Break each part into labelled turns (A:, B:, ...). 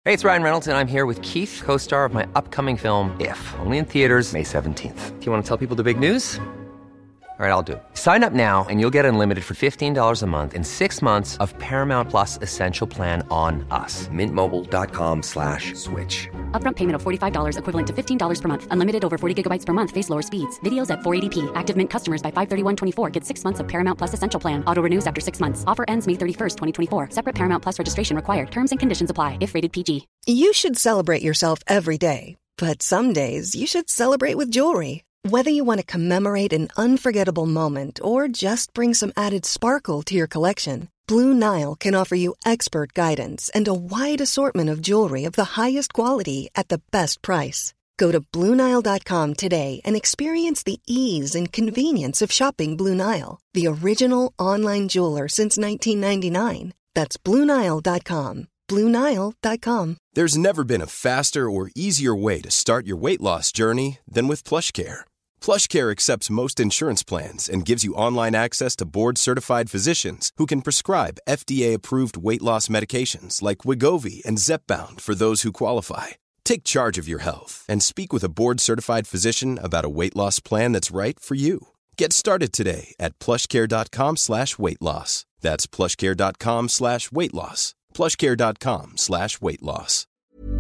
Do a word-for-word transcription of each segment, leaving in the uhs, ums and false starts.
A: Hey, it's Ryan Reynolds, and I'm here with Keith, co-star of my upcoming film, If, only in theaters May seventeenth. Do you want to tell people the big news? All right, I'll do it. Sign up now and you'll get unlimited for fifteen dollars a month and six months of Paramount Plus Essential Plan on us. Mint Mobile dot com slash switch.
B: Upfront payment of forty-five dollars equivalent to fifteen dollars per month. Unlimited over forty gigabytes per month. Face lower speeds. Videos at four eighty p. Active Mint customers by five thirty-one twenty-four get six months of Paramount Plus Essential Plan. Auto renews after six months. Offer ends May thirty-first, twenty twenty-four. Separate Paramount Plus registration required. Terms and conditions apply if rated P G.
C: You should celebrate yourself every day. But some days you should celebrate with jewelry. Whether you want to commemorate an unforgettable moment or just bring some added sparkle to your collection, Blue Nile can offer you expert guidance and a wide assortment of jewelry of the highest quality at the best price. Go to Blue Nile dot com today and experience the ease and convenience of shopping Blue Nile, the original online jeweler since nineteen ninety-nine. That's Blue Nile dot com. Blue Nile dot com.
D: There's never been a faster or easier way to start your weight loss journey than with PlushCare. PlushCare accepts most insurance plans and gives you online access to board-certified physicians who can prescribe F D A-approved weight loss medications like Wegovy and Zepbound for those who qualify. Take charge of your health and speak with a board-certified physician about a weight loss plan that's right for you. Get started today at plushcare.com slash weight loss. That's plushcare.com slash weight loss. plushcare.com slash weight loss.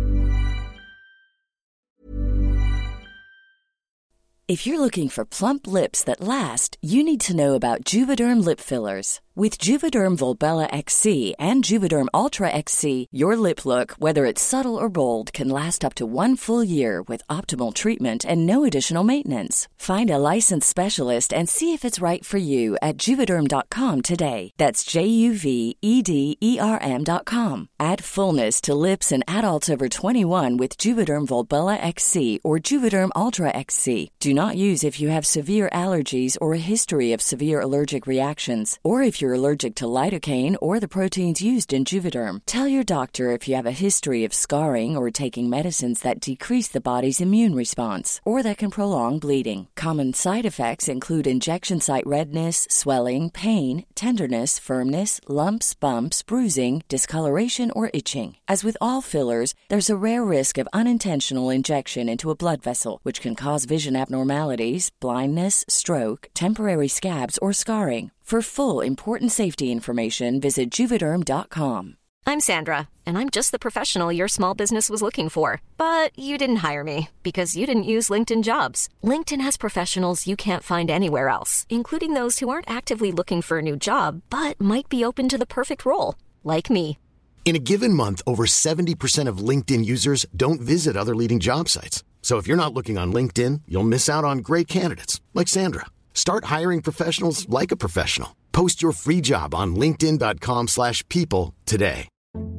E: If you're looking for plump lips that last, you need to know about Juvederm lip fillers. With Juvederm Volbella X C and Juvederm Ultra X C, your lip look, whether it's subtle or bold, can last up to one full year with optimal treatment and no additional maintenance. Find a licensed specialist and see if it's right for you at Juvederm dot com today. That's J U V E D E R M dot com. Add fullness to lips in adults over twenty-one with Juvederm Volbella X C or Juvederm Ultra X C. Do not use if you have severe allergies or a history of severe allergic reactions, or if you're allergic to lidocaine or the proteins used in Juvederm. Tell your doctor if you have a history of scarring or taking medicines that decrease the body's immune response or that can prolong bleeding. Common side effects include injection site redness, swelling, pain, tenderness, firmness, lumps, bumps, bruising, discoloration, or itching. As with all fillers, there's a rare risk of unintentional injection into a blood vessel, which can cause vision abnormalities, blindness, stroke, temporary scabs, or scarring. For full, important safety information, visit Juvederm dot com.
F: I'm Sandra, and I'm just the professional your small business was looking for. But you didn't hire me because you didn't use LinkedIn Jobs. LinkedIn has professionals you can't find anywhere else, including those who aren't actively looking for a new job, but might be open to the perfect role, like me.
G: In a given month, over seventy percent of LinkedIn users don't visit other leading job sites. So if you're not looking on LinkedIn, you'll miss out on great candidates like Sandra. Start hiring professionals like a professional. Post your free job on linkedin dot com slash people today.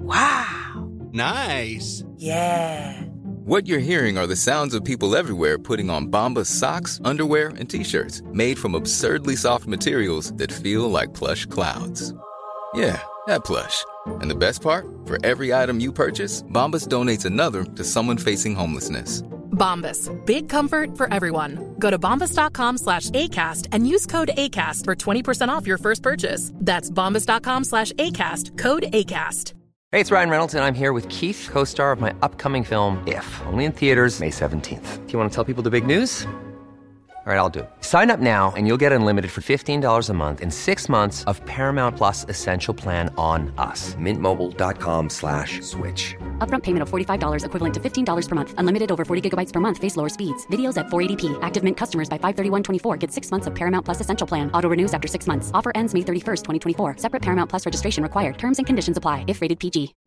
H: Wow.
I: Nice.
H: Yeah.
J: What you're hearing are the sounds of people everywhere putting on Bombas socks, underwear, and T-shirts made from absurdly soft materials that feel like plush clouds. Yeah, that plush. And the best part? For every item you purchase, Bombas donates another to someone facing homelessness.
K: Bombas. Big comfort for everyone. Go to bombas dot com slash ACAST and use code ACAST for twenty percent off your first purchase. That's bombas dot com slash ACAST. Code ACAST.
A: Hey, it's Ryan Reynolds, and I'm here with Keith, co-star of my upcoming film, If, only in theaters May seventeenth. Do you want to tell people the big news? All right, I'll do it. Sign up now and you'll get unlimited for fifteen dollars a month and six months of Paramount Plus Essential Plan on us. Mint Mobile dot com slash switch.
B: Upfront payment of forty-five dollars equivalent to fifteen dollars per month. Unlimited over forty gigabytes per month. Face lower speeds. Videos at four eighty p. Active Mint customers by five thirty-one twenty-four get six months of Paramount Plus Essential Plan. Auto renews after six months. Offer ends May thirty-first, twenty twenty-four. Separate Paramount Plus registration required. Terms and conditions apply if rated P G.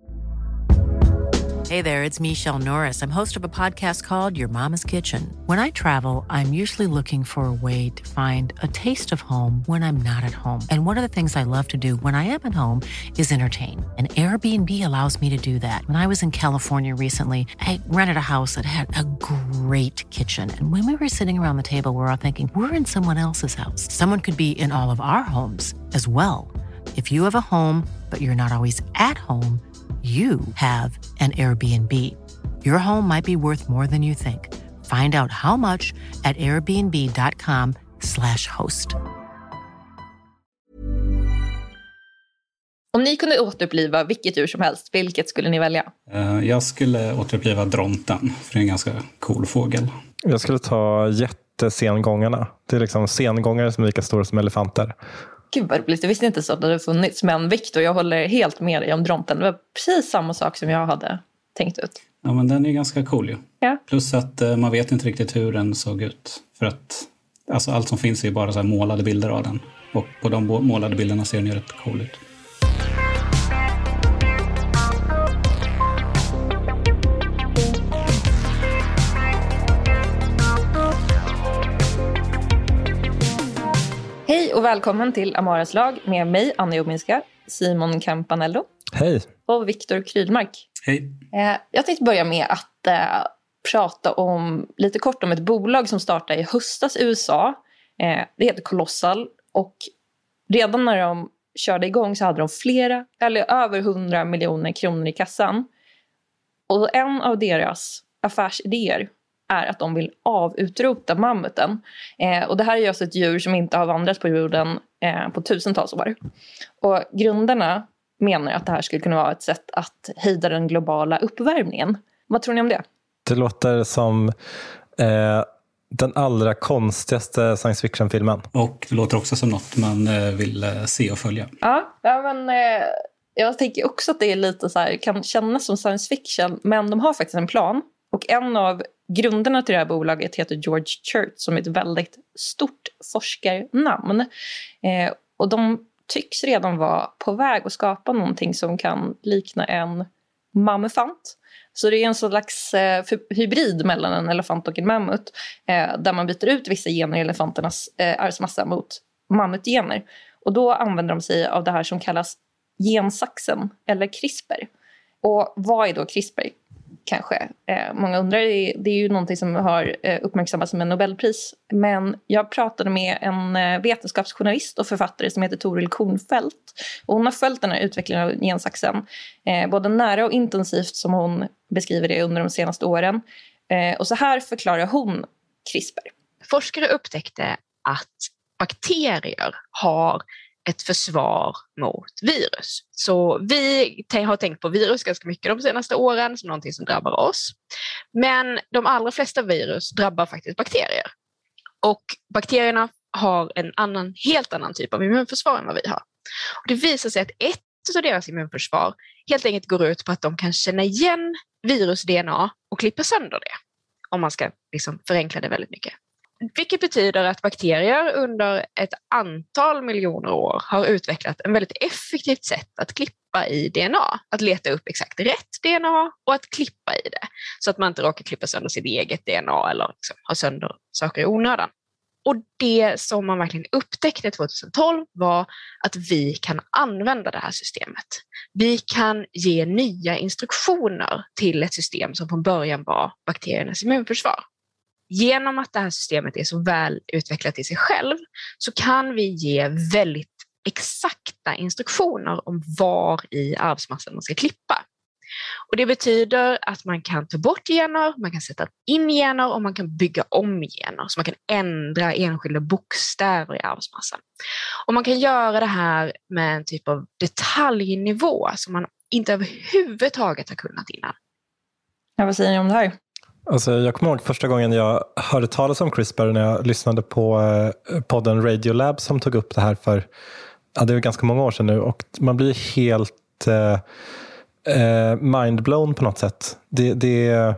L: Hey there, it's Michelle Norris. I'm host of a podcast called Your Mama's Kitchen. When I travel, I'm usually looking for a way to find a taste of home when I'm not at home. And one of the things I love to do when I am at home is entertain. And Airbnb allows me to do that. When I was in California recently, I rented a house that had a great kitchen. And when we were sitting around the table, we were all thinking, we're in someone else's house. Someone could be in all of our homes as well. If you have a home, but you're not always at home, you have an Airbnb. Your home might be worth more than you think. Find out how much at airbnb dot com slash host.
I: Om ni kunde återuppliva vilket djur som helst, vilket skulle ni välja?
M: Uh, jag skulle återuppliva dronten, för det är en ganska cool fågel.
N: Jag skulle ta jättesengångarna. Det är liksom sengångare som är lika stora som elefanter.
I: Gud vad roligt, jag visste inte så att det hade funnits. Men Victor, jag håller helt med dig om dronten. Det var precis samma sak som jag hade tänkt ut.
M: Ja, men den är ganska cool ju.
I: Ja.
M: Plus att uh, man vet inte riktigt hur den såg ut. För att alltså, allt som finns är ju bara så här målade bilder av den. Och på de målade bilderna ser den ju rätt cool ut.
I: Hej och välkommen till Amaras lag med mig, Anna Jominska, Simon Campanello.
N: Hej.
I: Och Victor Krydmark.
M: Hej.
I: Eh, jag tänkte börja med att eh, prata om lite kort om ett bolag som startade i höstas i U S A. Eh, det heter Colossal och redan när de körde igång så hade de flera, eller över hundra miljoner kronor i kassan. Och en av deras affärsidéer är att de vill avutrota mammuten. Eh, och det här är just ett djur som inte har vandrat på jorden eh, på tusentals år. Och grundarna menar att det här skulle kunna vara ett sätt att hejda den globala uppvärmningen. Vad tror ni om det?
N: Det låter som eh, den allra konstigaste science fiction-filmen.
M: Och det låter också som något man eh, vill eh, se och följa.
I: Ja, ja men eh, jag tänker också att det är lite så här, kan kännas som science fiction. Men de har faktiskt en plan. Och en av grunderna till det här bolaget heter George Church, som är ett väldigt stort forskarnamn. Eh, och de tycks redan vara på väg att skapa någonting som kan likna en mammufant. Så det är en slags eh, hybrid mellan en elefant och en mammut. Eh, där man byter ut vissa gener i elefanternas eh, arvsmassa mot mammutgener. Och då använder de sig av det här som kallas gensaxen eller CRISPR. Och vad är då CRISPR? Kanske. Eh, många undrar, det är ju någonting som har eh, uppmärksammats med Nobelpris. Men jag pratade med en eh, vetenskapsjournalist och författare som heter Toril Kornfeldt. Och hon har följt den här utvecklingen av gensaxen. Eh, både nära och intensivt som hon beskriver det under de senaste åren. Eh, och så här förklarar hon CRISPR.
O: Forskare upptäckte att bakterier har ett försvar mot virus. Så vi har tänkt på virus ganska mycket de senaste åren som någonting som drabbar oss. Men de allra flesta virus drabbar faktiskt bakterier. Och bakterierna har en annan, helt annan typ av immunförsvar än vad vi har. Och det visar sig att ett av deras immunförsvar helt enkelt går ut på att de kan känna igen virus-D N A och klippa sönder det. Om man ska liksom förenkla det väldigt mycket. Vilket betyder att bakterier under ett antal miljoner år har utvecklat en väldigt effektivt sätt att klippa i D N A. Att leta upp exakt rätt D N A och att klippa i det. Så att man inte råkar klippa sönder sitt eget D N A eller liksom ha sönder saker i onödan. Och det som man verkligen upptäckte tjugohundratolv var att vi kan använda det här systemet. Vi kan ge nya instruktioner till ett system som från början var bakteriernas immunförsvar. Genom att det här systemet är så väl utvecklat i sig själv så kan vi ge väldigt exakta instruktioner om var i arvsmassan man ska klippa. Och det betyder att man kan ta bort gener, man kan sätta in gener och man kan bygga om gener. Så man kan ändra enskilda bokstäver i arvsmassan. Och man kan göra det här med en typ av detaljnivå som man inte överhuvudtaget har kunnat innan.
I: Ja, vad säger ni om det här?
N: Alltså, jag kommer ihåg första gången jag hörde talas om CRISPR när jag lyssnade på eh, podden Radiolab som tog upp det här för, ja, det är ganska många år sedan nu, och man blir helt eh, eh, mindblown på något sätt. Det, det,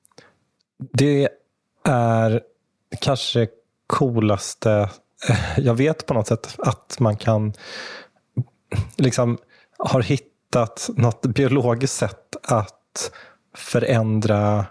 N: det är kanske coolaste eh, jag vet på något sätt, att man kan liksom har hittat något biologiskt sätt att förändra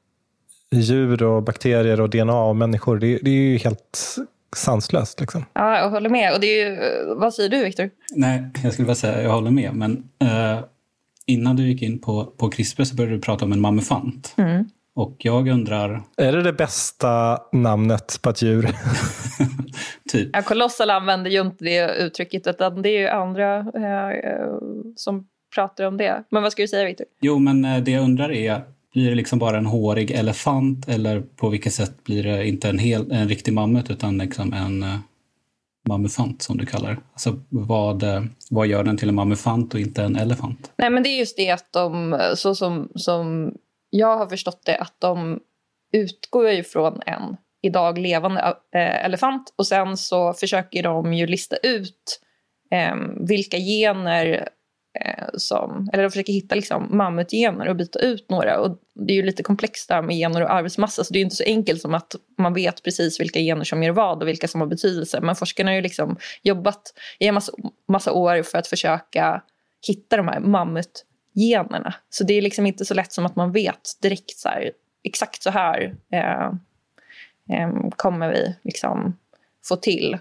N: djur och bakterier och D N A och människor. Det, det är ju helt sanslöst liksom.
I: Ja, jag håller med. Och det är ju, vad säger du, Victor?
M: Nej, jag skulle bara säga jag håller med. Men eh, innan du gick in på, på CRISPR så började du prata om en mammufant.
I: Mm.
M: Och jag undrar...
N: Är det det bästa namnet på ett djur?
M: typ.
I: Ja, Colossal använder ju inte det uttrycket, utan det är ju andra eh, som pratar om det. Men vad ska du säga, Victor?
M: Jo, men eh, det jag undrar är, blir det liksom bara en hårig elefant, eller på vilket sätt blir det inte en, hel, en riktig mammut utan liksom en, mammufant som du kallar? Alltså vad, vad gör den till en mammufant och inte en elefant?
I: Nej, men det är just det att de, så som, som jag har förstått det, att de utgår ju från en idag levande äh, elefant och sen så försöker de ju lista ut äh, vilka gener äh, som, eller de försöker hitta liksom mammutgener och byta ut några, och det är ju lite komplext där med gener och arbetsmassa, så det är ju inte så enkelt som att man vet precis vilka gener som gör vad och vilka som har betydelse, men forskarna har ju liksom jobbat i en massa, massa år för att försöka hitta de här mammutgenerna, så det är liksom inte så lätt som att man vet direkt så här, exakt så här eh, kommer vi liksom få till,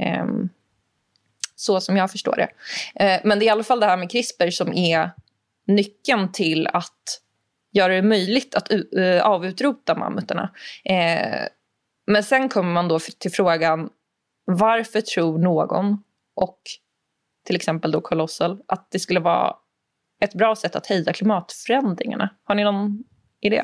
I: så som jag förstår det. Men det är i alla fall det här med CRISPR som är nyckeln till att göra det möjligt att avutrota mammuterna. Men sen kommer man då till frågan, varför tror någon, och till exempel då Colossal, att det skulle vara ett bra sätt att hejda klimatförändringarna? Har ni någon idé?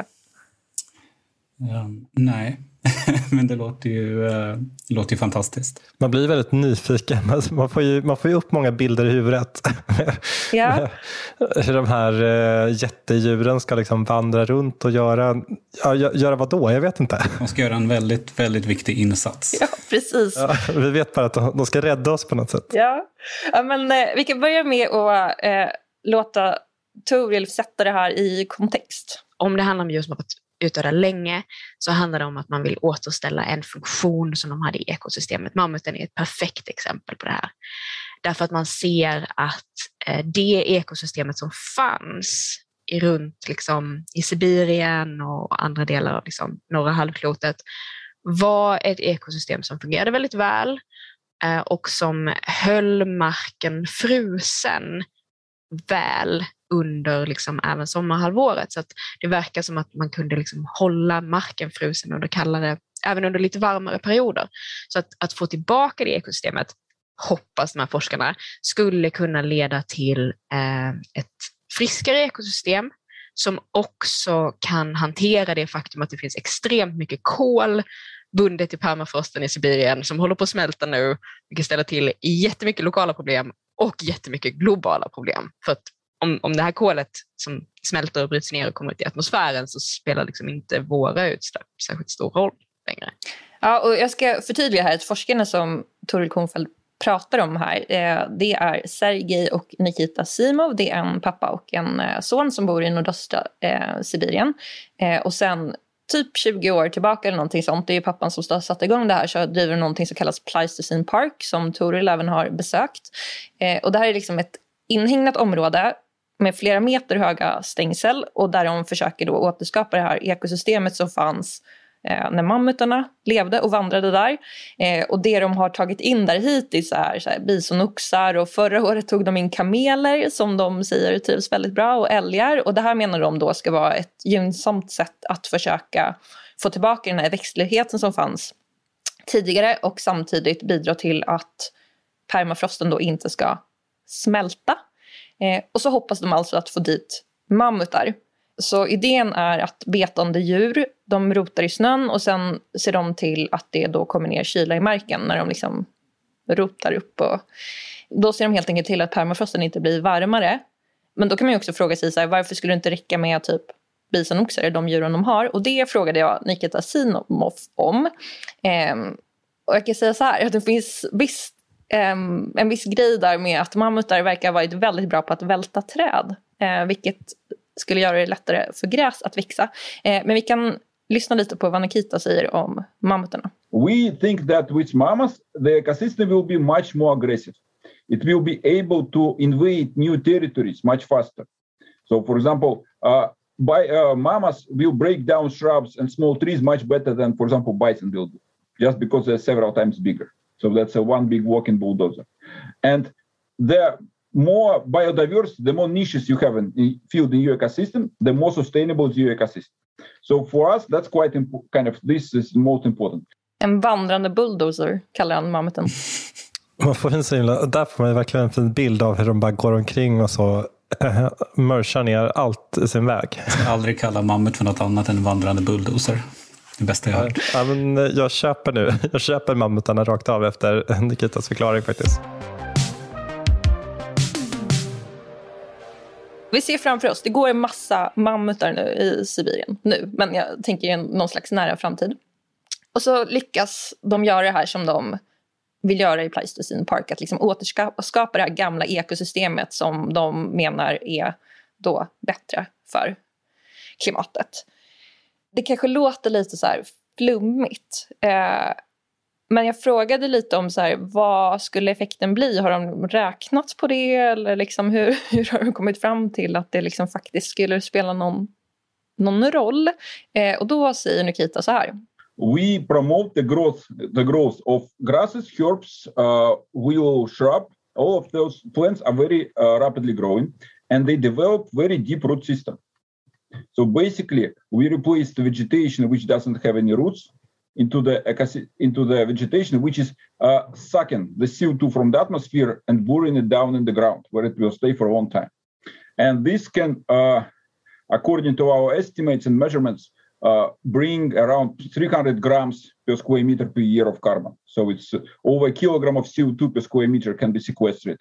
M: Um, nej. Men det låter ju, uh, det låter ju fantastiskt.
N: Man blir väldigt nyfiken. Man får ju, man får ju upp många bilder i huvudet.
I: Ja.
N: Hur de här uh, jättedjuren ska liksom vandra runt och göra, ja, göra vad då? Jag vet inte.
M: De ska göra en väldigt, väldigt viktig insats.
I: Ja, precis.
N: Ja, vi vet bara att de, de ska rädda oss på något sätt.
I: Ja, ja men uh, vi kan börja med att uh, låta Toril sätta det här i kontext.
O: Om det handlar om just att utöra länge, så handlar det om att man vill återställa en funktion som de hade i ekosystemet. Mammuten är ett perfekt exempel på det här. Därför att man ser att eh, det ekosystemet som fanns i runt liksom, i Sibirien och andra delar av liksom, norra halvklotet var ett ekosystem som fungerade väldigt väl eh, och som höll marken frusen väl under liksom även sommarhalvåret, så att det verkar som att man kunde liksom hålla marken frusen under kallare, även under lite varmare perioder. Så att, att få tillbaka det ekosystemet, hoppas de här forskarna, skulle kunna leda till eh, ett friskare ekosystem som också kan hantera det faktum att det finns extremt mycket kol bundet i permafrosten i Sibirien som håller på att smälta nu, vilket ställer till jättemycket lokala problem och jättemycket globala problem. För att om, om det här kolet som smälter och bryts ner och kommer ut i atmosfären, så spelar liksom inte våra utsläpp särskilt stor roll längre.
I: Ja, och jag ska förtydliga här att forskarna som Toril Kornfeld pratar om här, eh, det är Sergej och Nikita Simov. Det är en pappa och en eh, son som bor i nordöstra eh, Sibirien. Eh, och sen typ tjugo år tillbaka eller någonting sånt, det är ju pappan som satte igång det här, så driver någonting som kallas Pleistocene Park som Toril även har besökt. Eh, och det här är liksom ett inhägnat område med flera meter höga stängsel, och där de försöker då återskapa det här ekosystemet som fanns eh, när mammutarna levde och vandrade där. Eh, och det de har tagit in där hittills är så här, bisonoxar, och förra året tog de in kameler som de säger trivs väldigt bra, och älgar. Och det här menar de då ska vara ett gynnsamt sätt att försöka få tillbaka den här växtligheten som fanns tidigare, och samtidigt bidra till att permafrosten då inte ska smälta. Eh, och så hoppas de alltså att få dit mammutar. Så idén är att betande djur, de rotar i snön, och sen ser de till att det då kommer ner kyla i marken när de liksom rotar upp. Och då ser de helt enkelt till att permafrosten inte blir varmare. Men då kan man ju också fråga sig så här, varför skulle det inte räcka med typ bisonoxar, de djuren de har? Och det frågade jag Nikita Simov om. Eh, och jag kan säga så här, att det finns visst Um, en viss grej där med att mammutar verkar ha varit väldigt bra på att välta träd, uh, vilket skulle göra det lättare för gräs att växa. Uh, men vi kan lyssna lite på vad Nikita säger om mammutarna.
P: We think that with mammoths the ecosystem will be much more aggressive. It will be able to invade new territories much faster. So for example, uh, by, uh, mammoths will break down shrubs and small trees much better than, for example, bison will do, just because they're several times bigger. So that's a one big walking bulldozer. And the more biodiversity, the more niches you have in, in field in your ecosystem, the more sustainable is your ecosystem. So for us, that's quite impo- kind of, this is most important.
I: En vandrande bulldozer kallar han mammuten.
N: Man får en himla, där får man verkligen en fin bild av hur de bara går omkring och så äh, mörsar ner allt i sin väg.
M: Jag ska aldrig kalla mammut för något annat än vandrande bulldozer. Det bästa jag har hört.
N: Ja, men jag köper nu. Jag köper mammutarna rakt av efter Nikitas förklaring faktiskt.
I: Vi ser framför oss, det går en massa mammutar nu i Sibirien nu. Men jag tänker i någon slags nära framtid. Och så lyckas de göra det här som de vill göra i Pleistocene Park. Att liksom återskapa det här gamla ekosystemet som de menar är då bättre för klimatet. Det kanske låter lite så här flummigt. Eh, men jag frågade lite om så här, vad skulle effekten bli? Har de räknat på det? Eller liksom hur, hur har de kommit fram till att det liksom faktiskt skulle spela någon, någon roll? Eh, och då säger Nikita så här.
P: We promote the growth, the growth of grasses, herbs, uh, willow, shrub. All of those plants are very uh, rapidly growing, and they develop very deep root system. So basically, we replace the vegetation which doesn't have any roots into the into the vegetation which is uh, sucking the C O two from the atmosphere and boring it down in the ground, where it will stay for a long time. And this can, uh, according to our estimates and measurements, Uh, bring around three hundred grams per square meter per year of carbon. So it's uh, over a kilogram of C O two per square meter can be sequestered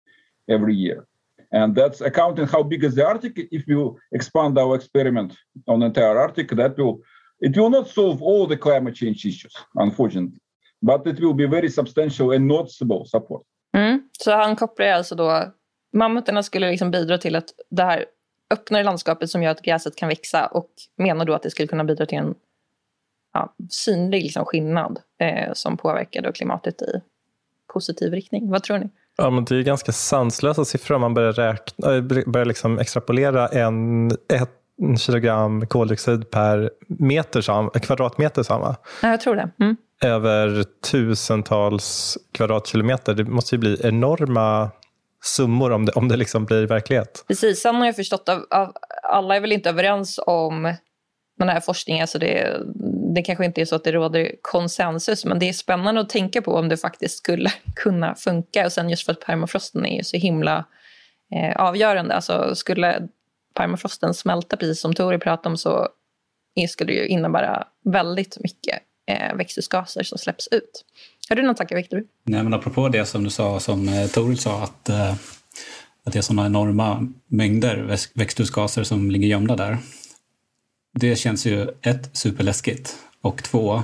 P: every year. And that's accounting how big is the Arctic. If you expand our experiment on the entire Arctic, that will, it will not solve all the climate change issues, unfortunately. But it will be very substantial and noticeable support.
I: Mm. Så han kopplar alltså då, mammutarna skulle liksom bidra till att det här öppnar landskapet som gör att gräset kan växa, och menar då att det skulle kunna bidra till en ja, synlig liksom skillnad eh, som påverkar då klimatet i positiv riktning. Vad tror ni?
N: Ja, men det är ganska sanslösa siffror om man börjar, räkna, börjar liksom extrapolera en, ett kilogram koldioxid per meter sam, kvadratmeter samma.
I: Ja, jag tror det. Mm.
N: Över tusentals kvadratkilometer. Det måste ju bli enorma summor om det, om det liksom blir verklighet.
I: Precis, sen har jag förstått av, av alla är väl inte överens om den här forskningen, så det, det kanske inte är så att det råder konsensus, men det är spännande att tänka på om det faktiskt skulle kunna funka. Och sen just för att permafrosten är så himla eh, avgörande, alltså skulle permafrosten smälta precis som Tori pratade om, så skulle det ju innebära väldigt mycket eh, växthusgaser som släpps ut. Har du någon tankar, Victor?
M: Nej, men apropå det som du sa, som eh, Toril sa, att, eh, att det är sådana enorma mängder växthusgaser som ligger gömda där. Det känns ju ett, superläskigt, och två,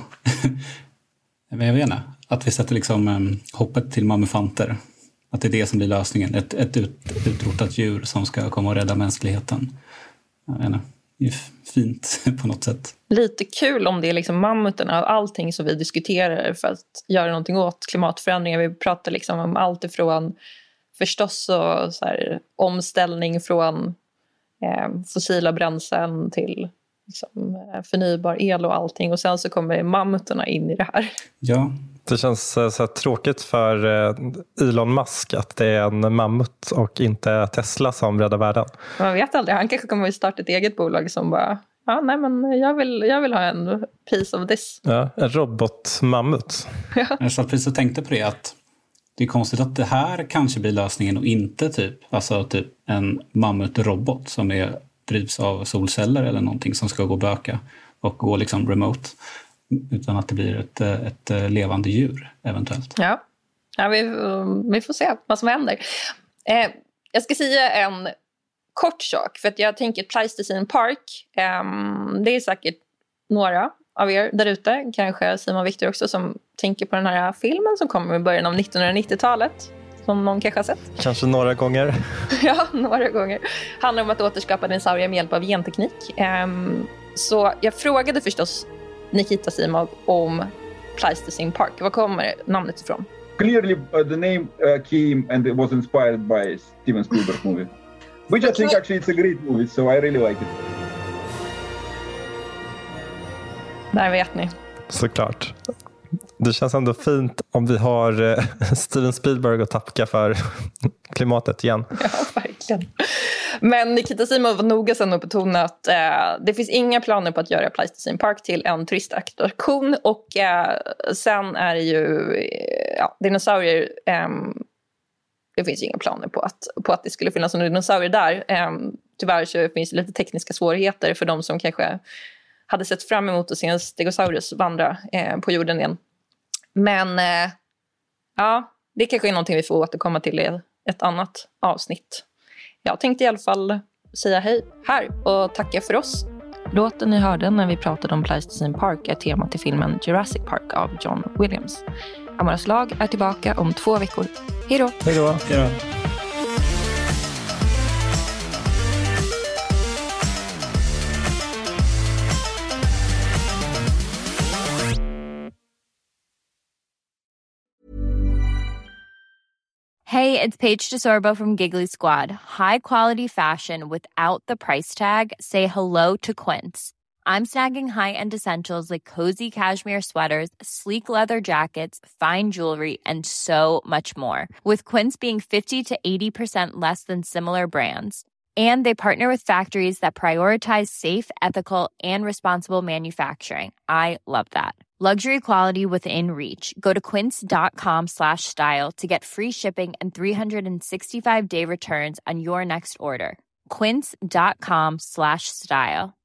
M: jag vet inte, att vi sätter liksom eh, hoppet till mammufanter. Att det är det som blir lösningen. Ett, ett ut, utrotat djur som ska komma och rädda mänskligheten. Jag vet inte. Det är fint på något sätt.
I: Lite kul om det är liksom mammuterna av allting som vi diskuterar för att göra någonting åt klimatförändringar. Vi pratar liksom om allt ifrån förstås och så här, omställning från eh, fossila bränslen till liksom, förnybar el och allting. Och sen så kommer mammuterna in i det här.
M: Ja.
N: Det känns så här tråkigt för Elon Musk att det är en mammut och inte Tesla som räddar världen.
I: Man vet aldrig, han kanske kommer att starta ett eget bolag som bara, ja nej men jag vill, jag vill ha en piece of this.
N: Ja, en robotmammut.
I: Ja.
M: Jag satt precis och tänkte på det, att det är konstigt att det här kanske blir lösningen och inte typ, alltså typ en mammutrobot som är, drivs av solceller eller någonting som ska gå böka och gå liksom remote. Utan att det blir ett, ett levande djur eventuellt.
I: Ja, ja vi, vi får se vad som händer. Eh, jag ska säga en kort sak. För att jag tänker Pleistocene Park. Eh, det är säkert några av er där ute. Kanske Simon Victor också, som tänker på den här filmen som kommer i början av nittonhundranittiotalet. Som någon kanske har sett.
N: Kanske några gånger.
I: Ja, några gånger. Handlar om att återskapa dinosaurier med hjälp av genteknik. Eh, så jag frågade förstås Nikita Simov om Pleistocene Park. Var kommer namnet ifrån?
P: Clearly uh, the name uh, came and it was inspired by Steven Spielberg movie. Which I think actually it's a great movie, so I really like it.
I: Där vet ni.
N: Såklart. Det känns ändå fint om vi har eh, Steven Spielberg att tacka för klimatet igen.
I: Ja, verkligen. Men Nikita Simov var noga sen att betona att eh, det finns inga planer på att göra Pleistocene Park till en turistattraktion. Och eh, sen är det ju eh, ja, dinosaurier. Eh, det finns inga planer på att, på att det skulle finnas några dinosaurier där. Eh, tyvärr så finns det lite tekniska svårigheter för de som kanske hade sett fram emot att se en stegosaurus vandra eh, på jorden igen. Men eh, ja, det kanske är någonting vi får återkomma till i ett annat avsnitt. Jag tänkte i alla fall säga hej här och tacka för oss. Låten ni hörde när vi pratade om Pleistocene Park är temat till filmen Jurassic Park av John Williams. Amaras lag är tillbaka om två veckor. Hej då!
N: Hej då!
M: Hej då!
Q: Hey, it's Paige DeSorbo from Giggly Squad. High quality fashion without the price tag. Say hello to Quince. I'm snagging high-end essentials like cozy cashmere sweaters, sleek leather jackets, fine jewelry, and so much more. With Quince being fifty to eighty percent less than similar brands. And they partner with factories that prioritize safe, ethical, and responsible manufacturing. I love that. Luxury quality within reach. Go to quince.com slash style to get free shipping and three sixty-five day returns on your next order. Quince.com slash style.